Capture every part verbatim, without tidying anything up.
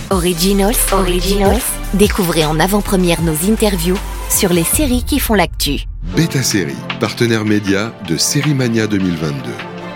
Originals, Originals. Découvrez en avant-première nos interviews sur les séries qui font l'actu. Beta Série, partenaire média de Série Mania deux mille vingt-deux.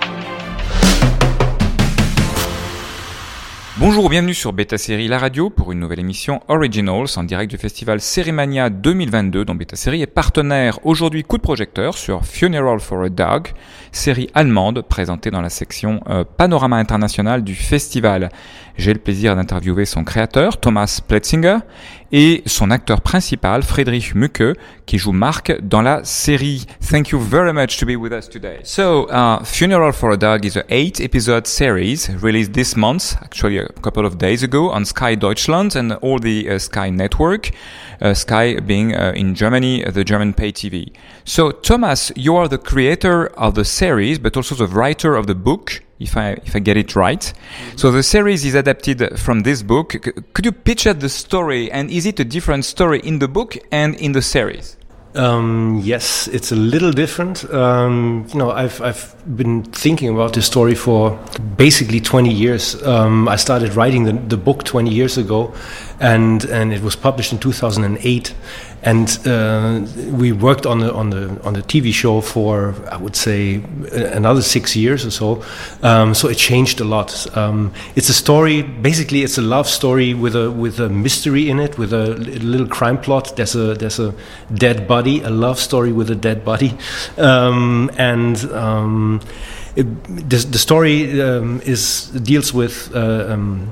Bonjour, bienvenue sur Beta Série, la radio, pour une nouvelle émission Originals en direct du festival Série Mania deux mille vingt-deux, dont Beta Série est partenaire. Aujourd'hui, coup de projecteur sur Funeral for a Dog, série allemande présentée dans la section euh, Panorama International du festival. J'ai le plaisir d'interviewer son créateur, Thomas Pletzinger, et son acteur principal, Friedrich Mücke, qui joue Mark dans la série. Thank you very much to be with us today. So, uh, Funeral for a Dog is an eight-episode series released this month, actually a couple of days ago, on Sky Deutschland and all the uh, Sky network, uh, Sky being uh, in Germany, uh, the German pay T V. So, Thomas, you are the creator of the series, but also the writer of the book, if I if I get it right. Mm-hmm. So the series is adapted from this book. C- could you picture the story, and is it a different story in the book and in the series? Um, yes, it's a little different. Um, you know, I've I've been thinking about this story for basically twenty years. Um, I started writing the, the book twenty years ago, and and it was published in two thousand eight. And uh, we worked on the on the on the T V show for, I would say, another six years or so. Um, so it changed a lot. Um, it's a story. Basically, it's a love story with a with a mystery in it, with a little crime plot. There's a there's a dead body. A love story with a dead body, um, and um, it, the, the story um, is deals with. Uh, um,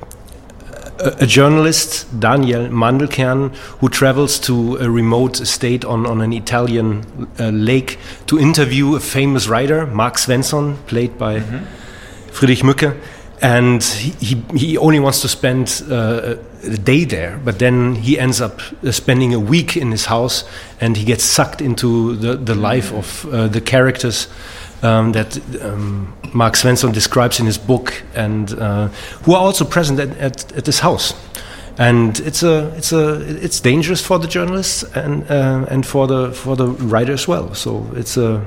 A journalist, Daniel Mandelkern, who travels to a remote estate on, on an Italian uh, lake to interview a famous writer, Mark Svensson, played by mm-hmm. Friedrich Mücke. And he, he, he only wants to spend uh, a day there, but then he ends up spending a week in his house, and he gets sucked into the, the life of uh, the characters Um, that um, Mark Svensson describes in his book, and uh, who are also present at, at, at this house. And it's a it's a it's dangerous for the journalists and uh, and for the for the writer as well. So it's a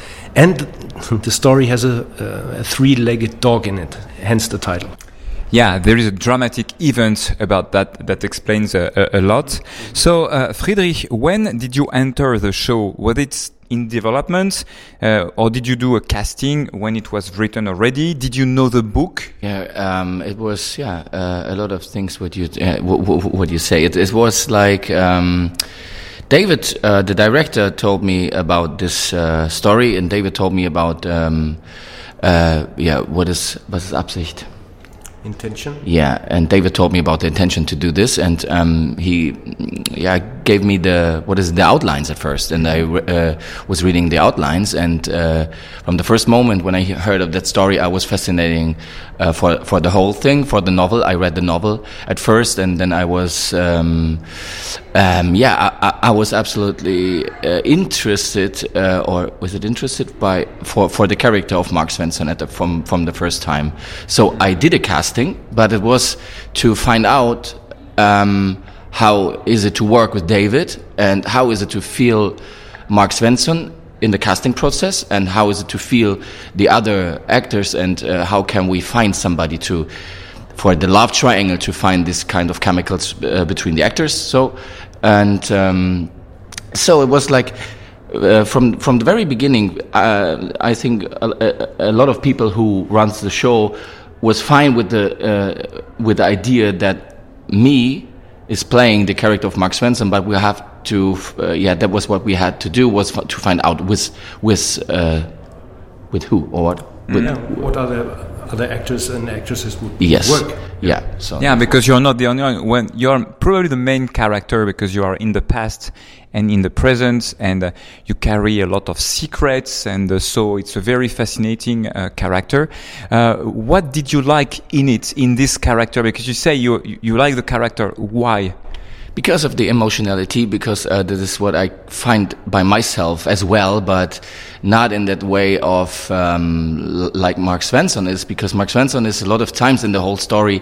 and the story has a, a three-legged dog in it, hence the title. Yeah, there is a dramatic event about that that explains a, a, a lot. So, uh, Friedrich, when did you enter the show? Was it in development, uh, or did you do a casting when it was written already? Did you know the book? Yeah, um, it was yeah uh, a lot of things. What you uh, w- w- what you say? It, it was like um, David, uh, the director, told me about this uh, story, and David told me about um, uh, yeah what is was ist Absicht? Intention. Yeah, and David told me about the intention to do this, and um, he, yeah, gave me the what is it, the outlines at first, and I uh, was reading the outlines, and uh, from the first moment when I heard of that story, I was fascinating uh, for for the whole thing, for the novel. I read the novel at first, and then I was, um, um, yeah, I, I was absolutely uh, interested, uh, or was it interested by for for the character of Mark Svensson at the, from from the first time. So I did a casting. But it was to find out um, how is it to work with David, and how is it to feel Mark Svensson in the casting process, and how is it to feel the other actors, and uh, how can we find somebody to for the love triangle to find this kind of chemicals uh, between the actors. So and um, so it was like uh, from from the very beginning. Uh, I think a, a, a lot of people who runs the show was fine with the uh, with the idea that me is playing the character of Mark Svensson, but we have to uh, yeah that was what we had to do, was f- to find out with with uh, with who or what with yeah, what other other actors and actresses would yes work. yeah so yeah because you're not the only one. When you're probably the main character, because you are in the past and in the present, and uh, you carry a lot of secrets, and uh, so it's a very fascinating uh, character. Uh, what did you like in it, in this character? Because you say you you like the character. Why? Because of the emotionality, because uh, this is what I find by myself as well, but not in that way of um, l- like Mark Svensson is, because Mark Svensson is a lot of times in the whole story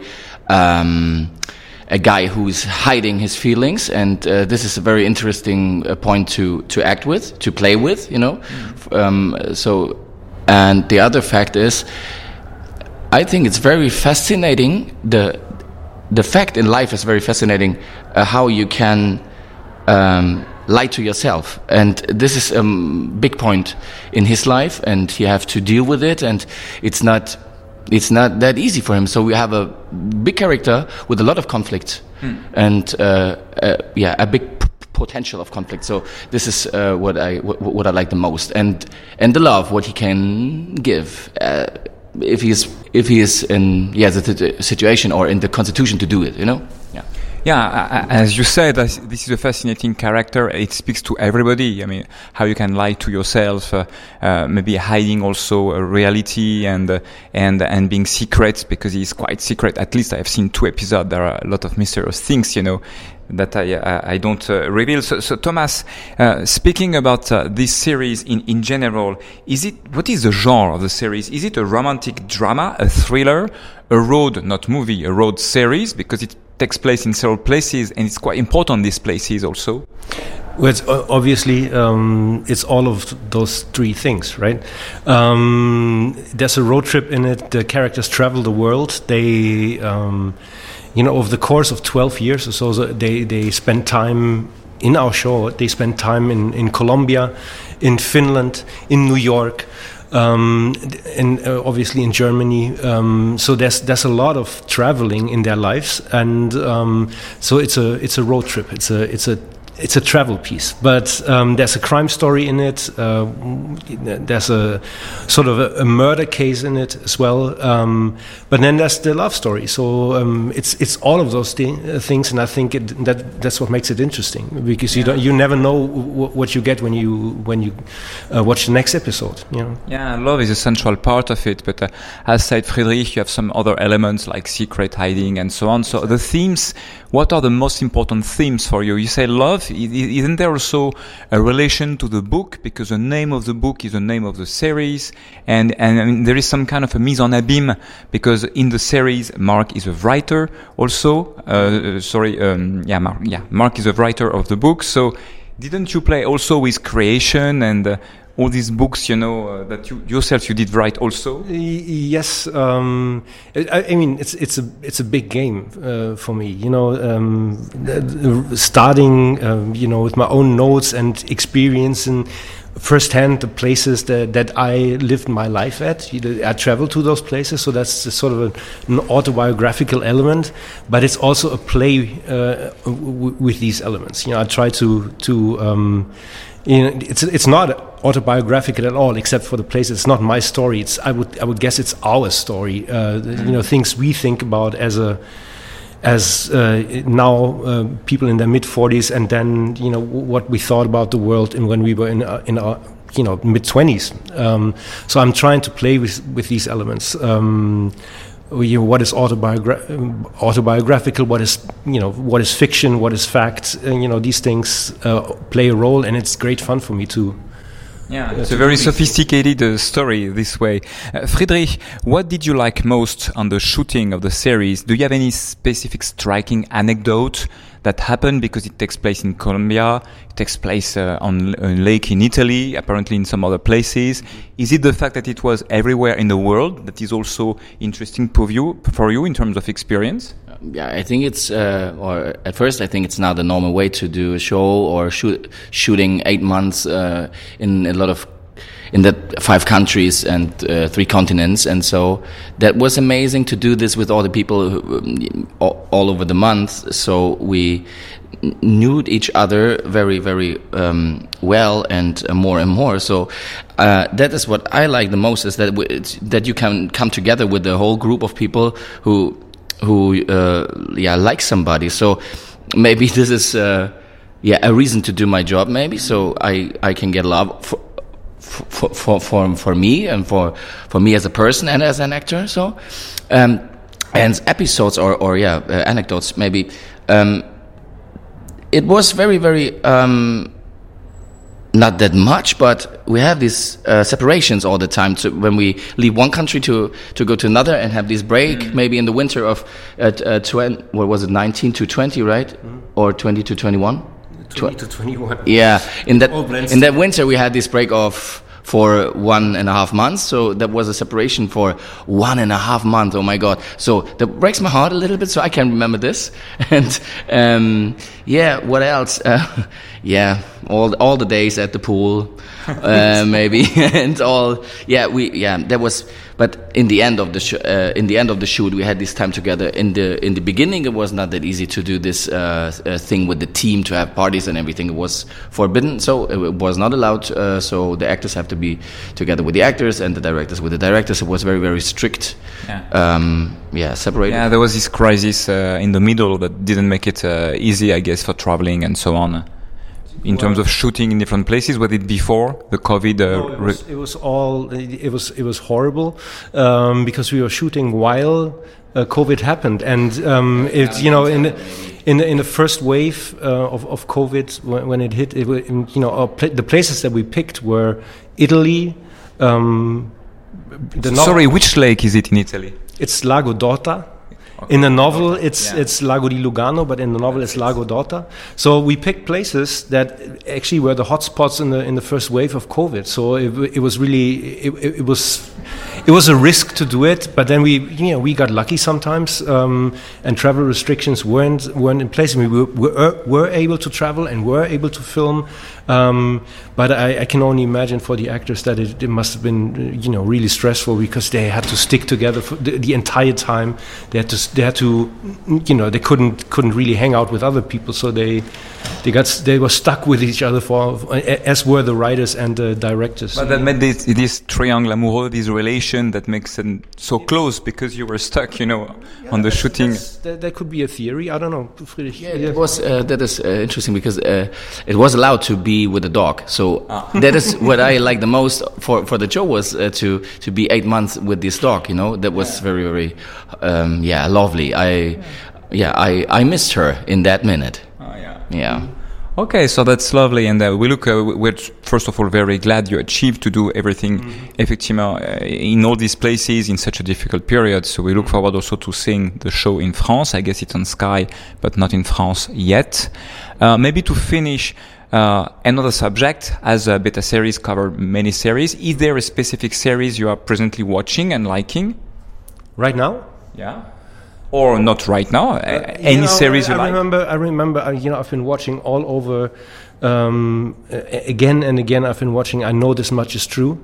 um, a guy who's hiding his feelings, and uh, this is a very interesting uh, point to, to act with, to play with, you know. Mm. Um, so, and the other fact is, I think it's very fascinating, the the fact in life is very fascinating, uh, how you can um, lie to yourself, and this is a um, big point in his life, and he have to deal with it, and it's not it's not that easy for him. So we have a big character with a lot of conflict, hmm. and uh, uh, yeah, a big p- potential of conflict. So this is uh, what I w- what I like the most, and and the love what he can give. Uh, if he's if he is in yeah the, the situation or in the constitution to do it, you know. Yeah. Yeah, as you said, this is a fascinating character. It speaks to everybody. I mean, how you can lie to yourself, uh, uh, maybe hiding also a reality and uh, and and being secret, because he's quite secret. At least I have seen two episodes. There are a lot of mysterious things, you know, that I I, I don't uh, reveal. So, so Thomas, uh, speaking about uh, this series in in general, is it what is the genre of the series? Is it a romantic drama, a thriller, a road, not movie, a road series, because it takes place in several places, and it's quite important, these places also? Well, it's obviously um, it's all of those three things, right? Um, there's a road trip in it. The characters travel the world. They, um, you know, over the course of twelve years or so, they they spend time in our show. They spend time in in Colombia, in Finland, in New York. Um, and uh, obviously in Germany, um, so there's there's a lot of traveling in their lives, and um, so it's a it's a road trip. It's a it's a it's a travel piece, but um, there's a crime story in it. Uh, there's a sort of a, a murder case in it as well. Um, but then there's the love story. So um, it's it's all of those thi- uh, things, and I think it, that that's what makes it interesting, because you don't you never know w- what you get when you when you uh, watch the next episode. You know. Yeah, love is a central part of it. But uh, as said Friedrich, you have some other elements like secret, hiding, and so on. So the themes. What are the most important themes for you? You say love. Isn't there also a relation to the book? Because the name of the book is the name of the series. And, and I mean, there is some kind of a mise en abîme, because in the series, Mark is a writer also. Uh, sorry, um, yeah, Mark, yeah, Mark is a writer of the book. So didn't you play also with creation and uh, all these books, you know, uh, that you yourself you did write also? Yes, um, I, I mean it's it's a it's a big game uh, for me. You know, um, starting um, you know with my own notes and experiencing firsthand the places that that I lived my life at. I traveled to those places, so that's sort of a, an autobiographical element. But it's also a play uh, w- with these elements. You know, I try to to. Um, You know, it's it's not autobiographical at all, except for the place. It's not my story. It's I would I would guess it's our story. Uh, you know, things we think about as a as uh, now uh, people in their mid forties, and then you know what we thought about the world and when we were in uh, in our you know mid twenties. Um, so I'm trying to play with with these elements. Um, You know, what is autobiogra- autobiographical? What is you know? What is fiction? What is fact? And, you know, these things uh, play a role, and it's great fun for me to. Yeah, it's a very sophisticated uh, story this way. Uh, Friedrich, what did you like most on the shooting of the series? Do you have any specific striking anecdote that happened, because it takes place in Colombia, it takes place uh, on a lake in Italy, apparently in some other places? Is it the fact that it was everywhere in the world that is also interesting for you, for you in terms of experience? Yeah, I think it's, uh, or at first I think it's not the normal way to do a show or shoot, shooting eight months uh, in a lot of, in the five countries and uh, three continents. And so that was amazing to do this with all the people who, all, all over the month. So we knew each other very, very um, well and uh, more and more. So uh, that is what I like the most, is that w- that you can come together with the whole group of people who who uh, yeah like somebody. So maybe this is uh, yeah a reason to do my job, maybe, so I, I can get love for, for for for for me and for for me as a person and as an actor. So um, and episodes or or yeah uh, anecdotes maybe. Um, it was very very um, not that much, but we have these uh, separations all the time. So when we leave one country to to go to another and have this break, mm. maybe in the winter of uh, uh, twenty, what was it, nineteen to twenty, right, mm. or twenty to twenty-one? twenty to twenty-one. Yeah, in that in that winter we had this break of for one and a half months. So that was a separation for one and a half months. Oh my God. So that breaks my heart a little bit. So I can remember this. And, um, yeah, what else? Uh, yeah, all, all the days at the pool, uh, maybe, and all, yeah, we, yeah, that was, but in the end of the sh- uh, in the end of the shoot, we had this time together. In the in the beginning, it was not that easy to do this uh, uh, thing with the team, to have parties and everything. It was forbidden, so it was not allowed. Uh, so the actors have to be together with the actors, and the directors with the directors. It was very very strict. Yeah, um, yeah separated. Yeah, there was this crisis uh, in the middle that didn't make it uh, easy, I guess, for traveling and so on. In terms of shooting in different places, was it before the COVID? Uh, no, it, was, it was all. It was it was horrible um, because we were shooting while uh, COVID happened, and um, it you know in the, in the, in the first wave uh, of of COVID when, when it hit, it, you know our pla- the places that we picked were Italy. Um, the Sorry, no- which lake is it in Italy? It's Lago d'Orta. In the novel, it's yeah. it's Lago di Lugano, but in the novel, it's Lago d'Orta. So we picked places that actually were the hotspots in the in the first wave of COVID. So it, it was really it, it was it was a risk to do it, but then we you know we got lucky sometimes, um, and travel restrictions weren't weren't in place. We were were, were able to travel and were able to film, um, but I, I can only imagine for the actors that it, it must have been you know really stressful because they had to stick together for the, the entire time. They had to. They had to, you know, they couldn't couldn't really hang out with other people, so they they got they were stuck with each other for, as were the writers and the directors. But that made this, this triangle amoureux, this relation that makes them so close because you were stuck, you know, yeah, on the shooting. That, that could be a theory. I don't know, Friedrich. Yeah, it was uh, that is uh, interesting because uh, it was allowed to be with a dog. So ah. that is what I like the most for for the show was uh, to to be eight months with this dog. You know, that was yeah. very very um, yeah. Lovely. I, yeah, I, I missed her in that minute. Oh, yeah. Yeah. Okay, so that's lovely, and uh, we look. Uh, we're first of all very glad you achieved to do everything mm-hmm. effectivement uh, in all these places in such a difficult period. So we look forward also to seeing the show in France. I guess it's on Sky, but not in France yet. Uh, maybe to finish. Uh, another subject, as a beta series cover many series. Is there a specific series you are presently watching and liking? Right now? Yeah. Or not right now? Uh, Any know, series I, you I like? Remember, I remember. Uh, you know, I've been watching all over, um, again and again. I've been watching. I Know This Much Is True,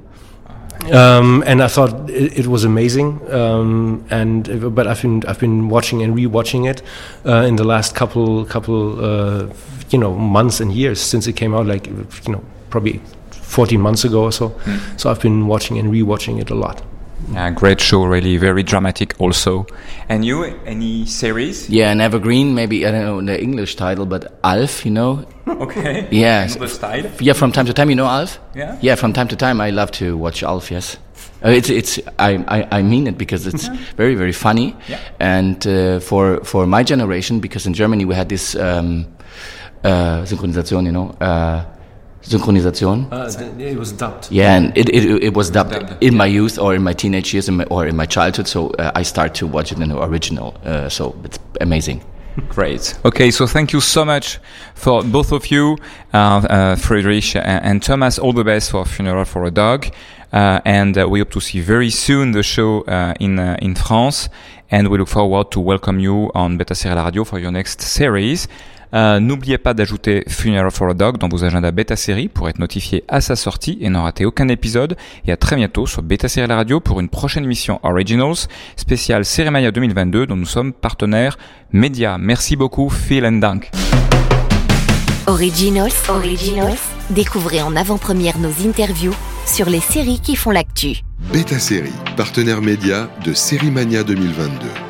um, and I thought it, it was amazing. Um, and but I've been I've been watching and rewatching it uh, in the last couple couple uh, you know months and years since it came out. Like you know, probably fourteen months ago or so. Mm. So I've been watching and rewatching it a lot. Yeah, great show, really very dramatic also. And you, any series? Yeah, an evergreen, maybe, I don't know the English title, but Alf, you know? Okay. Yeah. The style? Yeah, from time to time, you know Alf? Yeah. Yeah, from time to time I love to watch Alf, yes. Uh, it's, it's, I, I, I mean it because it's yeah. very, very funny. Yeah. And uh, for, for my generation, because in Germany we had this um, uh, Synchronisation, you know, uh, Synchronisation. Uh, it was dubbed. Yeah, and it it, it was dubbed, dubbed in yeah. my youth or in my teenage years in my, or in my childhood. So uh, I start to watch it in the original. Uh, so it's amazing. Great. Okay, so thank you so much for both of you, uh, uh, Friedrich and, and Thomas. All the best for Funeral for a Dog, uh, and uh, we hope to see very soon the show uh, in uh, in France. And we look forward to welcome you on Beta Série La Radio for your next series. Euh, n'oubliez pas d'ajouter Funeral for a Dog dans vos agendas Beta Série pour être notifié à sa sortie et n'en rater aucun épisode. Et à très bientôt sur Beta Série La Radio pour une prochaine émission Originals spéciale Série Mania deux mille vingt-deux dont nous sommes partenaires médias. Merci beaucoup, vielen Dank. Originals, Originals. Découvrez en avant-première nos interviews sur les séries qui font l'actu. Beta Série, partenaire média de Série Mania deux mille vingt-deux.